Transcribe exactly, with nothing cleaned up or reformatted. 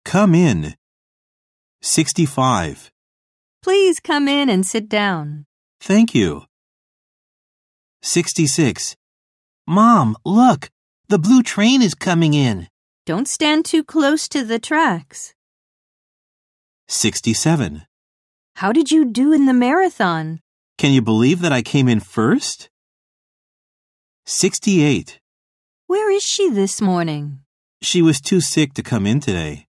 Come in. sixty-five. Please come in and sit down. Thank you. sixty-six. Mom, look! The blue train is coming in. Don't stand too close to the tracks. sixty-seven. How did you do in the marathon? Can you believe that I came in first? sixty-eight. Where is she this morning? She was too sick to come in today.